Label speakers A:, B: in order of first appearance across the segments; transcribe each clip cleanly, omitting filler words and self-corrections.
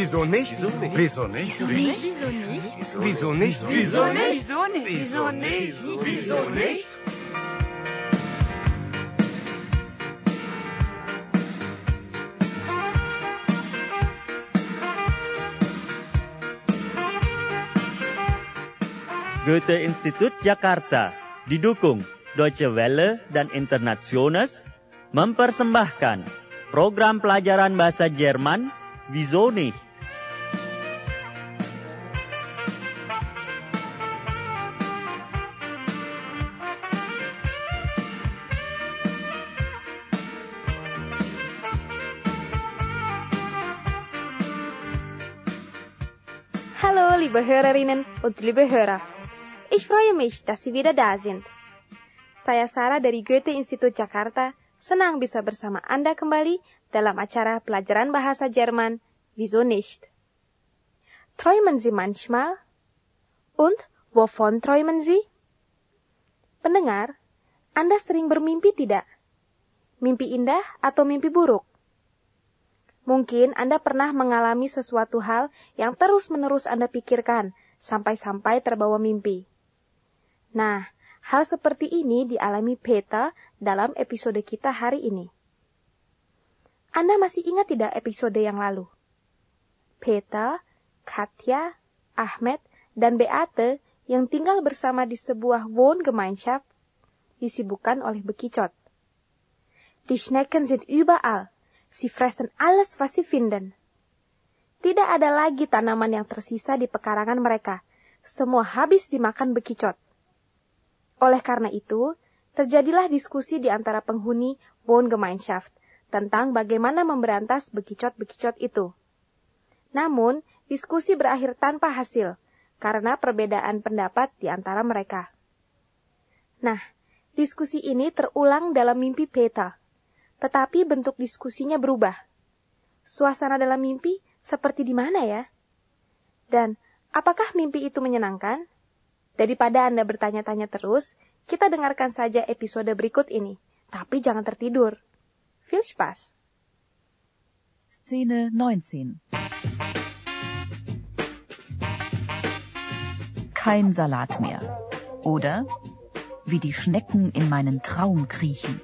A: Wieso nicht?
B: Wieso nicht?
A: Wieso nicht?
C: Wieso nicht?
A: Wieso nicht?
C: Wieso nicht?
A: Wieso nicht?
D: Goethe-Institut Jakarta didukung Deutsche Welle dan Internationals mempersembahkan program pelajaran bahasa Jerman Wieso nicht?
E: Hallo, liebe Hörerinnen und liebe Hörer. Ich freue mich, dass Sie wieder da sind. Saya Sarah dari Goethe-Institut Jakarta, senang bisa bersama Anda kembali dalam acara pelajaran bahasa Jerman Wieso nicht? Träumen Sie manchmal? Und wovon träumen Sie? Pendengar, Anda sering bermimpi tidak? Mimpi indah atau mimpi buruk? Mungkin Anda pernah mengalami sesuatu hal yang terus-menerus Anda pikirkan, sampai-sampai terbawa mimpi. Nah, hal seperti ini dialami Peter dalam episode kita hari ini. Anda masih ingat tidak episode yang lalu? Peter, Katja, Ahmed, dan Beate yang tinggal bersama di sebuah Wohngemeinschaft disibukkan oleh bekicot. Die Schnecken sind überall. Sie fressen alles, was sie finden. Tidak ada lagi tanaman yang tersisa di pekarangan mereka. Semua habis dimakan bekicot. Oleh karena itu, terjadilah diskusi di antara penghuni Wohngemeinschaft tentang bagaimana memberantas bekicot-bekicot itu. Namun, diskusi berakhir tanpa hasil karena perbedaan pendapat di antara mereka. Nah, diskusi ini terulang dalam mimpi Peter, tetapi bentuk diskusinya berubah. Suasana dalam mimpi seperti di mana ya? Dan apakah mimpi itu menyenangkan? Daripada Anda bertanya-tanya terus, kita dengarkan saja episode berikut ini. Tapi jangan tertidur. Viel Spaß!
F: Szene 19. Kein Salat mehr. Oder wie die Schnecken in meinen Traum kriechen.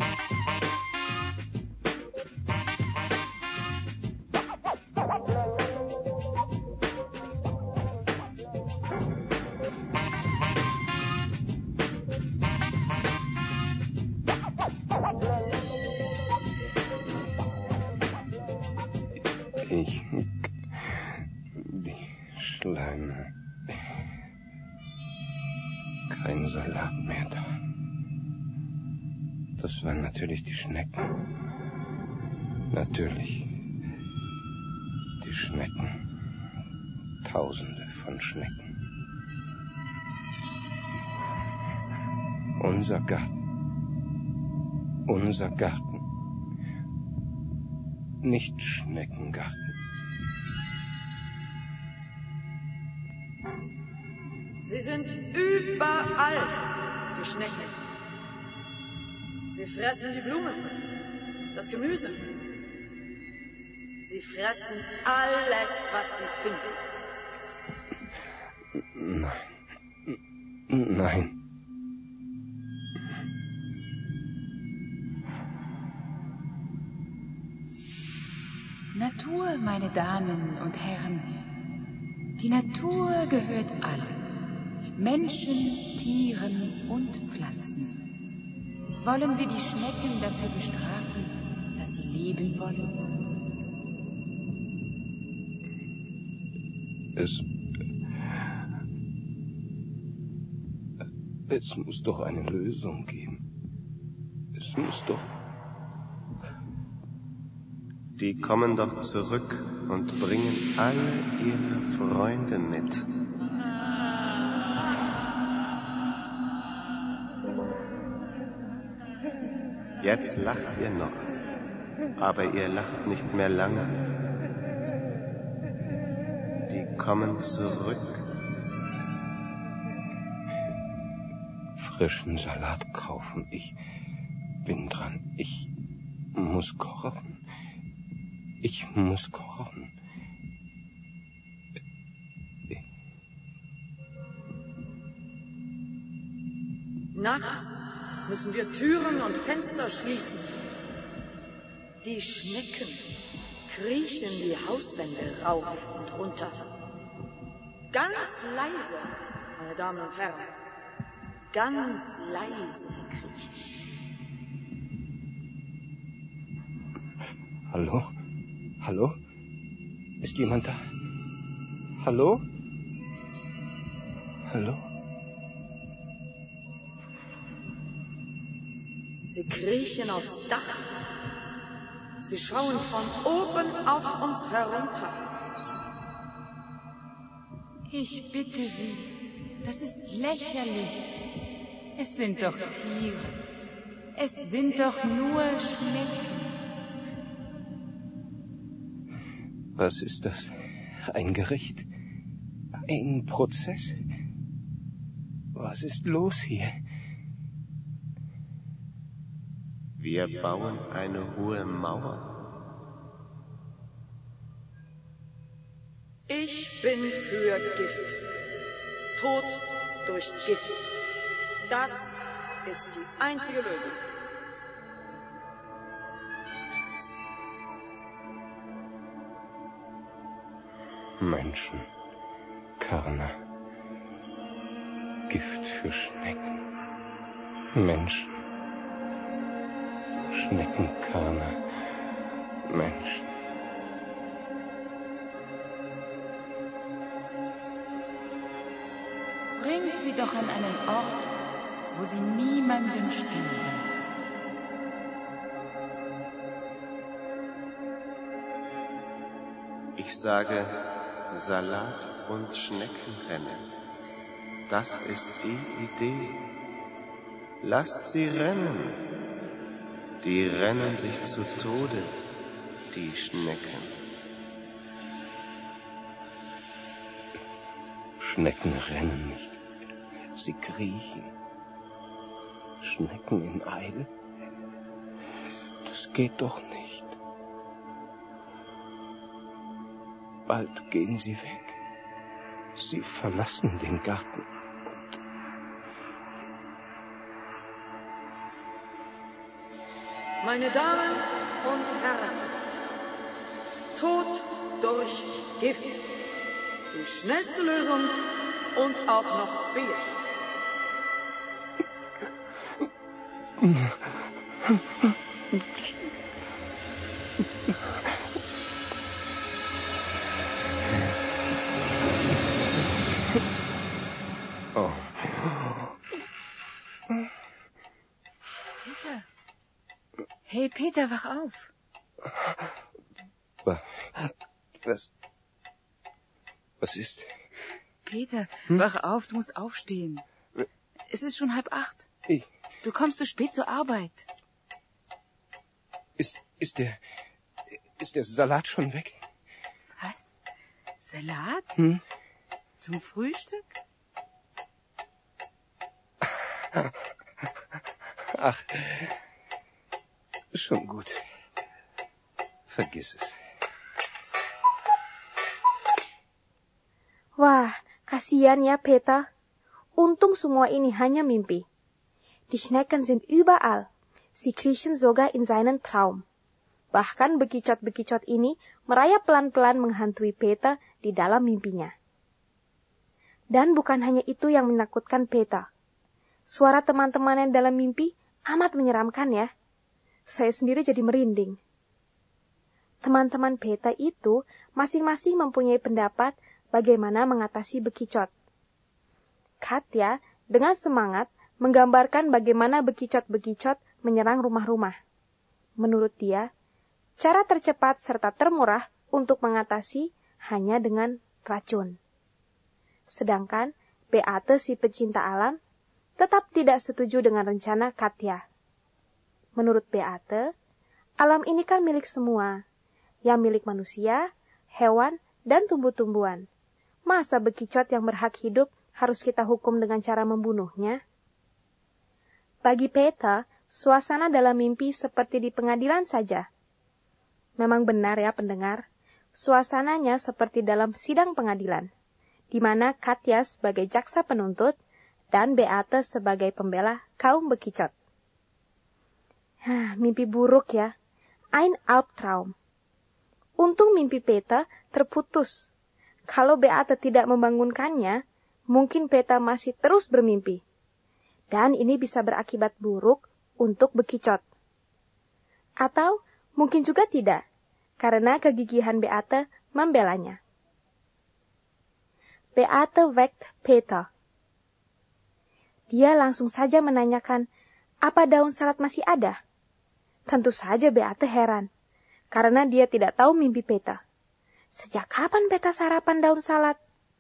A: Die Schleime. Kein Salat mehr da. Das waren natürlich die Schnecken. Natürlich. Die Schnecken. Tausende von Schnecken. Unser Garten. Unser Garten. Nicht Schneckengarten.
C: Sie sind überall, die Schnecken. Sie fressen die Blumen, das Gemüse. Sie fressen alles, was sie finden.
A: Nein. Nein.
G: Natur, meine Damen und Herren. Die Natur gehört allen. Menschen, Tieren und Pflanzen. Wollen Sie die Schnecken dafür bestrafen, dass sie leben wollen?
A: Es muss doch eine Lösung geben. Es muss doch... Die kommen doch zurück und bringen alle ihre Freunde mit. Jetzt lacht ihr noch, aber ihr lacht nicht mehr lange. Die kommen zurück. Frischen Salat kaufen, ich bin dran. Ich muss kochen. Ich muss kochen.
C: Nachts müssen wir Türen und Fenster schließen. Die Schnecken kriechen die Hauswände rauf und runter. Ganz leise, meine Damen und Herren. Ganz leise kriechen sie.
A: Hallo? Hallo? Ist jemand da? Hallo? Hallo?
C: Sie kriechen aufs Dach. Sie schauen von oben auf uns herunter.
G: Ich bitte Sie, das ist lächerlich. Es sind doch Tiere. Es sind doch nur Schnecken.
A: Was ist das? Ein Gericht? Ein Prozess? Was ist los hier? Wir bauen eine hohe Mauer.
C: Ich bin für Gift. Tod durch Gift. Das ist die einzige Lösung.
A: Menschen, Körner, Gift für Schnecken. Menschen, Schneckenkörner, Menschen.
G: Bringt sie doch an einen Ort, wo sie niemanden stören.
A: Ich sage Salat und Schneckenrennen. Das ist die Idee. Lasst sie rennen. Die rennen sich zu Tode, die Schnecken. Schnecken rennen nicht. Sie kriechen. Schnecken in Eile? Das geht doch nicht. Bald gehen sie weg. Sie verlassen den Garten.
C: Meine Damen und Herren, Tod durch Gift. Die schnellste Lösung und auch noch billig.
A: Oh.
G: Peter. Hey, Peter, wach auf.
A: Was ist?
G: Peter, wach auf, du musst aufstehen. Es ist schon 7:30. Du kommst zu spät zur Arbeit.
A: Ist der Salat schon weg?
G: Was? Salat? Zum Frühstück?
A: Ach, schon gut. Vergiss es.
E: Wah, kasihan ya Peter. Untung semua ini hanya mimpi. Die Schnecken sind überall. Sie kriechen sogar in seinen Traum. Bahkan bekicot-bekicot ini merayap pelan-pelan menghantui Peter di dalam mimpinya. Dan bukan hanya itu yang menakutkan Peter. Suara teman-temannya dalam mimpi amat menyeramkan ya. Saya sendiri jadi merinding. Teman-teman Peter itu masing-masing mempunyai pendapat bagaimana mengatasi bekicot. Katya dengan semangat menggambarkan bagaimana bekicot-bekicot menyerang rumah-rumah. Menurut dia, cara tercepat serta termurah untuk mengatasi hanya dengan racun. Sedangkan Beate si pecinta alam tetap tidak setuju dengan rencana Katya. Menurut Beate, alam ini kan milik semua, yang milik manusia, hewan, dan tumbuh-tumbuhan. Masa bekicot yang berhak hidup harus kita hukum dengan cara membunuhnya? Bagi Peter, suasana dalam mimpi seperti di pengadilan saja. Memang benar ya pendengar, suasananya seperti dalam sidang pengadilan, di mana Katya sebagai jaksa penuntut dan Beate sebagai pembela kaum bekicot. Mimpi buruk ya. Ein Albtraum. Untung mimpi Peter terputus. Kalau Beate tidak membangunkannya, mungkin Peter masih terus bermimpi. Dan ini bisa berakibat buruk untuk bekicot. Atau mungkin juga tidak, karena kegigihan Beate membelanya. Beate weckt Peter. Dia langsung saja menanyakan, apa daun salad masih ada? Tentu saja Beate heran, karena dia tidak tahu mimpi Peter. Sejak kapan Peter sarapan daun salad?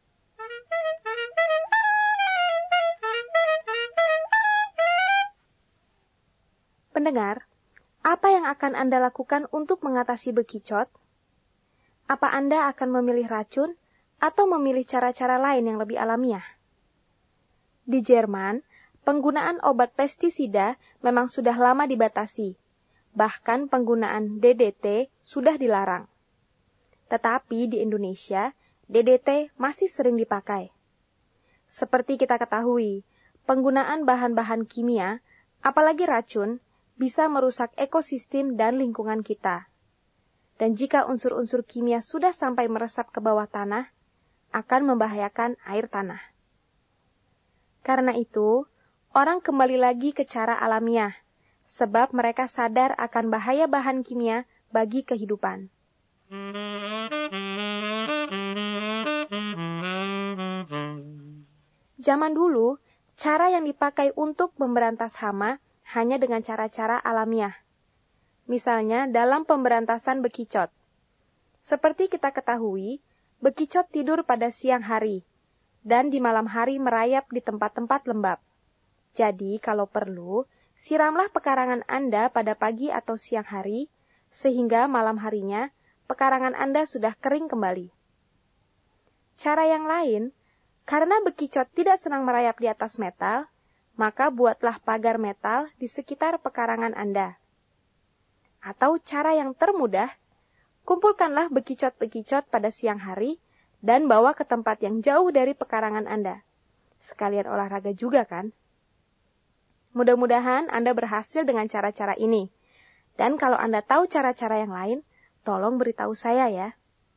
E: Pendengar, apa yang akan Anda lakukan untuk mengatasi bekicot? Apa Anda akan memilih racun atau memilih cara-cara lain yang lebih alamiah? Di Jerman, penggunaan obat pestisida memang sudah lama dibatasi. Bahkan penggunaan DDT sudah dilarang. Tetapi di Indonesia, DDT masih sering dipakai. Seperti kita ketahui, penggunaan bahan-bahan kimia, apalagi racun, bisa merusak ekosistem dan lingkungan kita. Dan jika unsur-unsur kimia sudah sampai meresap ke bawah tanah, akan membahayakan air tanah. Karena itu, orang kembali lagi ke cara alamiah, sebab mereka sadar akan bahaya bahan kimia bagi kehidupan. Zaman dulu, cara yang dipakai untuk memberantas hama hanya dengan cara-cara alamiah. Misalnya dalam pemberantasan bekicot. Seperti kita ketahui, bekicot tidur pada siang hari, dan di malam hari merayap di tempat-tempat lembab. Jadi, kalau perlu, siramlah pekarangan Anda pada pagi atau siang hari, sehingga malam harinya pekarangan Anda sudah kering kembali. Cara yang lain, karena bekicot tidak senang merayap di atas metal, maka buatlah pagar metal di sekitar pekarangan Anda. Atau cara yang termudah, kumpulkanlah bekicot-bekicot pada siang hari dan bawa ke tempat yang jauh dari pekarangan Anda. Sekalian olahraga juga kan? Mudah-mudahan Anda berhasil dengan cara-cara ini. Dan kalau Anda tahu cara-cara yang lain, tolong beritahu saya ya.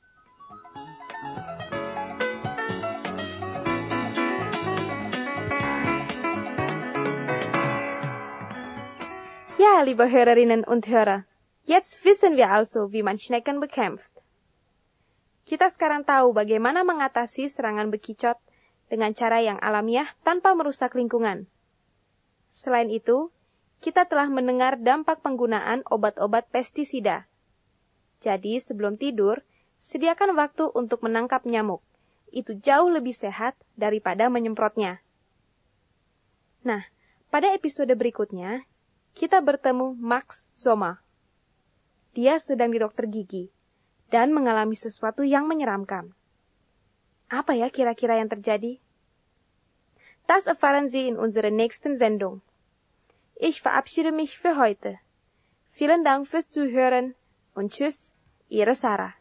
E: Ja, liebe Hörerinnen und Hörer, jetzt wissen wir also, wie man Schnecken bekämpft. Kita sekarang tahu bagaimana mengatasi serangan bekicot dengan cara yang alamiah tanpa merusak lingkungan. Selain itu, kita telah mendengar dampak penggunaan obat-obat pestisida. Jadi, sebelum tidur, sediakan waktu untuk menangkap nyamuk. Itu jauh lebih sehat daripada menyemprotnya. Nah, pada episode berikutnya, kita bertemu Max Sommer. Dia sedang di dokter gigi dan mengalami sesuatu yang menyeramkan. Apa ya kira-kira yang terjadi? Das erfahren Sie in unserer nächsten Sendung. Ich verabschiede mich für heute. Vielen Dank fürs Zuhören und tschüss, Ihre Sarah.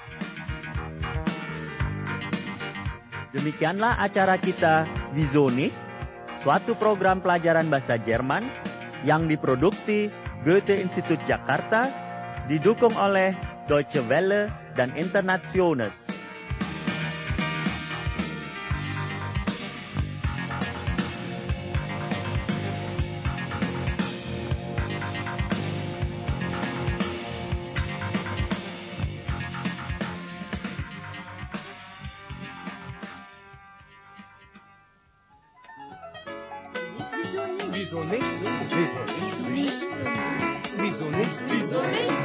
D: Demikianlah acara kita Wieso nicht? Suatu program pelajaran bahasa Jerman yang diproduksi Goethe-Institut Jakarta, didukung oleh Deutsche Welle dan Internationals.
B: Wieso nicht? Wieso nicht? Wieso nicht? Wieso nicht?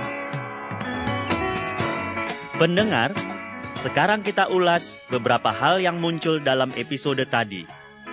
D: Pendengar, sekarang kita ulas beberapa hal yang muncul dalam episode tadi.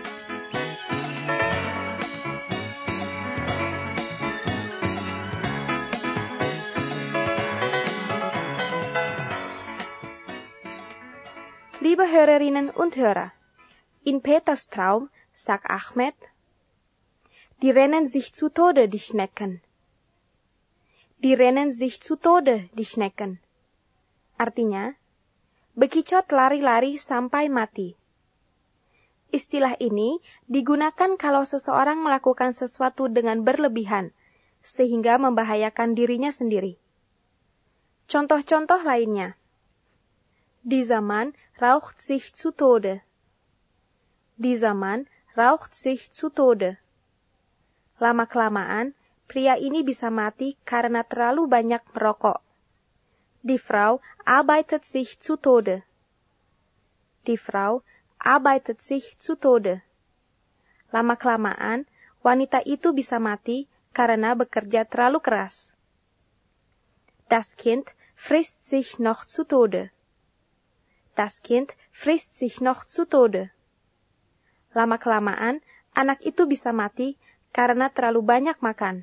E: Liebe Hörerinnen und Hörer, in Peters Traum sagt Ahmed, die rennen sich zu Tode, die Schnecken. Die rennen sich zu Tode, die Schnecken. Artinya, bekicot lari-lari sampai mati. Istilah ini digunakan kalau seseorang melakukan sesuatu dengan berlebihan, sehingga membahayakan dirinya sendiri. Contoh-contoh lainnya. Dieser Mann raucht sich zu Tode. Dieser Mann raucht sich zu Tode. Lama-kelamaan, pria ini bisa mati karena terlalu banyak merokok. Die Frau arbeitet sich zu Tode. Die Frau arbeitet sich zu Tode. Lama-kelamaan, wanita itu bisa mati karena bekerja terlalu keras. Das Kind frisst sich noch zu Tode. Das Kind frisst sich noch zu Tode. Lama-kelamaan, anak itu bisa mati karena terlalu banyak makan.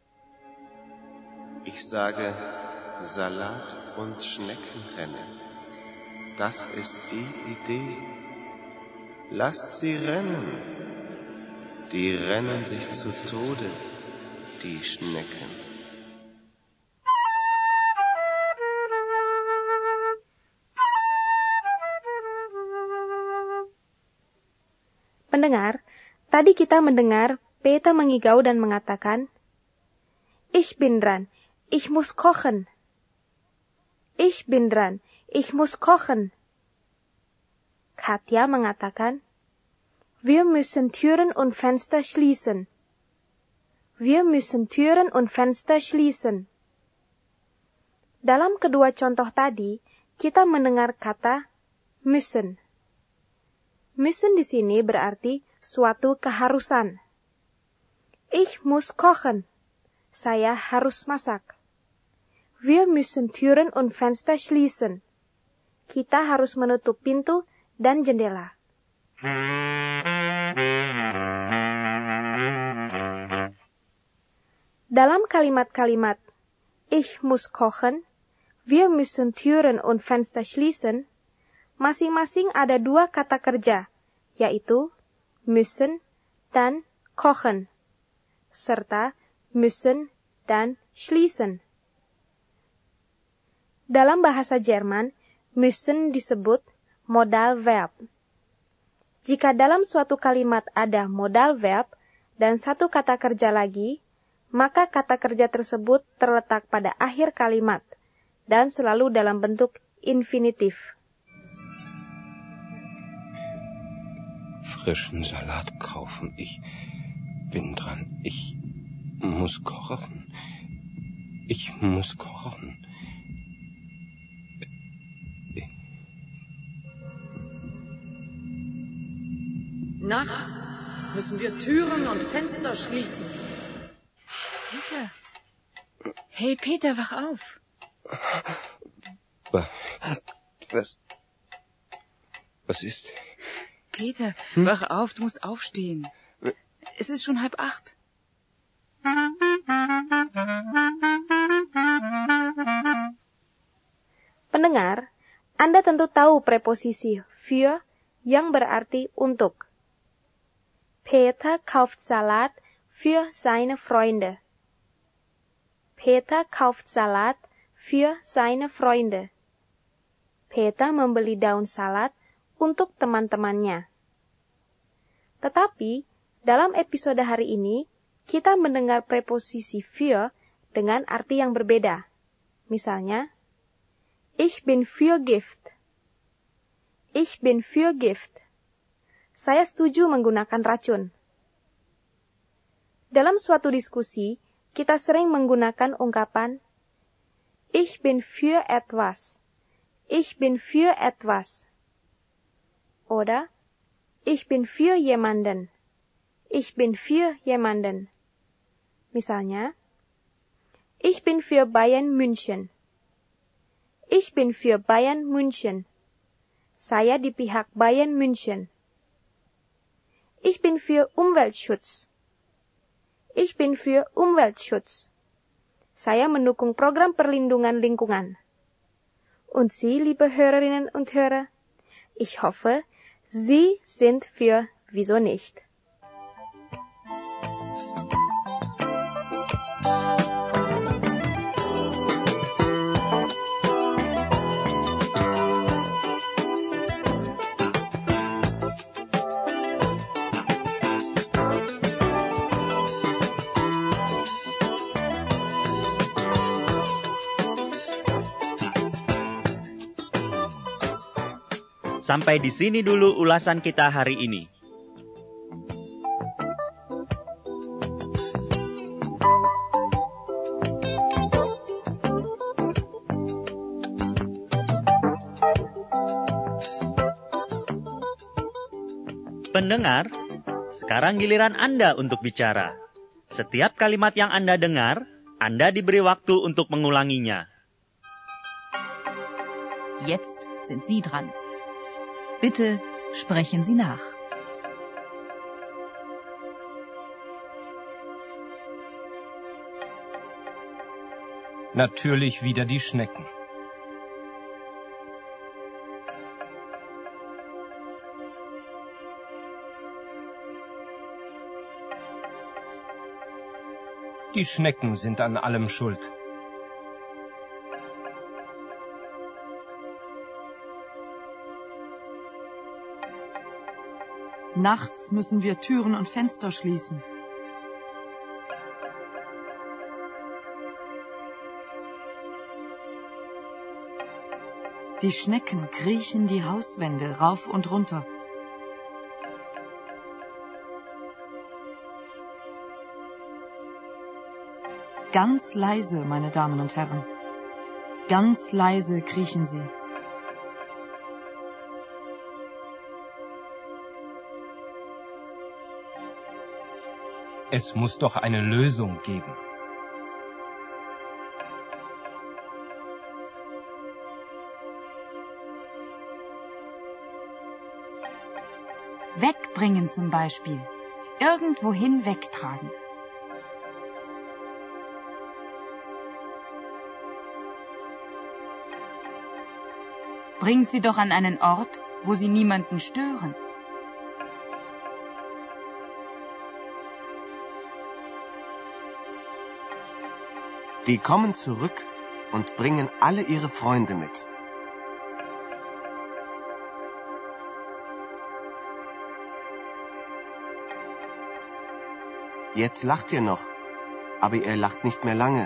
A: Ich sage Salat und Schneckenrennen. Das ist die Idee. Lasst sie rennen. Die rennen sich zu Tode, die Schnecken.
E: Pendengar, tadi kita mendengar Peter mengigau dan mengatakan, Ich bin dran, ich muss kochen. Ich bin dran, ich muss kochen. Katja mengatakan, Wir müssen Türen und Fenster schließen. Wir müssen Türen und Fenster schließen. Dalam kedua contoh tadi, kita mendengar kata müssen. Müssen di sini berarti suatu keharusan. Ich muss kochen. Saya harus masak. Wir müssen Türen und Fenster schließen. Kita harus menutup pintu dan jendela. Dalam kalimat-kalimat Ich muss kochen, Wir müssen Türen und Fenster schließen, masing-masing ada dua kata kerja, yaitu müssen dan kochen, serta müssen dan schließen. Dalam bahasa Jerman, müssen disebut modal verb. Jika dalam suatu kalimat ada modal verb dan satu kata kerja lagi, maka kata kerja tersebut terletak pada akhir kalimat dan selalu dalam bentuk infinitif.
A: Frischen Salat kaufen. Ich bin dran. Ich muss kochen. Ich muss kochen.
C: Nachts müssen wir Türen und Fenster schließen.
G: Peter. Hey, Peter, wach auf.
A: Was ist?
G: Peter, wach auf, du musst aufstehen. Es ist schon 7:30.
E: Pendengar, Anda tentu tahu preposisi für yang berarti untuk. Peter kauft Salat für seine Freunde. Peter kauft Salat für seine Freunde. Peter membeli daun salad untuk teman-temannya. Tetapi, dalam episode hari ini, kita mendengar preposisi für dengan arti yang berbeda. Misalnya, Ich bin für Gift. Ich bin für Gift. Saya setuju menggunakan racun. Dalam suatu diskusi, kita sering menggunakan ungkapan Ich bin für etwas. Ich bin für etwas. Oder Ich bin für jemanden. Ich bin für jemanden. Misalnya, Ich bin für Bayern München. Ich bin für Bayern München. Saya di pihak Bayern München. Ich bin für Umweltschutz. Ich bin für Umweltschutz. Saya mendukung program perlindungan lingkungan. Und Sie, liebe Hörerinnen und Hörer, ich hoffe, Sie sind für Wieso nicht?
D: Sampai di sini dulu ulasan kita hari ini. Pendengar, sekarang giliran Anda untuk bicara. Setiap kalimat yang Anda dengar, Anda diberi waktu untuk mengulanginya.
F: Jetzt sind Sie dran. Bitte sprechen Sie nach.
A: Natürlich wieder die Schnecken. Die Schnecken sind an allem schuld.
H: Nachts müssen wir Türen und Fenster schließen. Die Schnecken kriechen die Hauswände rauf und runter. Ganz leise, meine Damen und Herren. Ganz leise kriechen sie.
A: Es muss doch eine Lösung geben.
G: Wegbringen zum Beispiel. Irgendwohin wegtragen. Bringt sie doch an einen Ort, wo sie niemanden stören.
I: Die kommen zurück und bringen alle ihre Freunde mit. Jetzt lacht ihr noch, aber ihr lacht nicht mehr lange.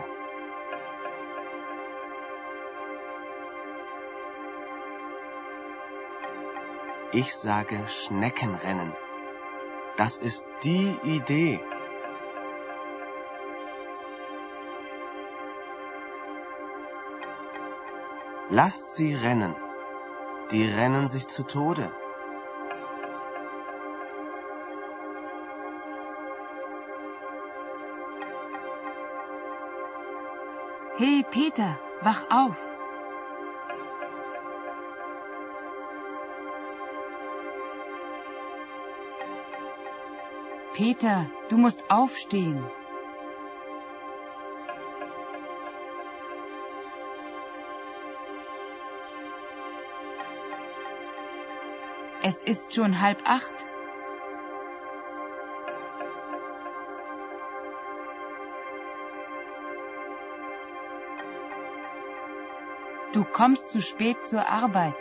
I: Ich sage Schneckenrennen. Das ist die Idee. Lasst sie rennen. Die rennen sich zu Tode.
G: Hey Peter, wach auf. Peter, du musst aufstehen. Es ist schon 7:30. Du kommst zu spät zur Arbeit.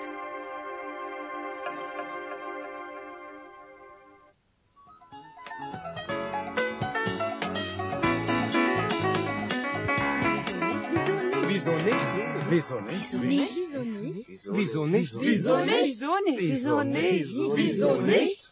B: Wieso nicht? Wieso nicht? Wieso nicht? Wieso nicht? Wieso nicht? Wieso nicht? Wieso nicht? Wieso nicht?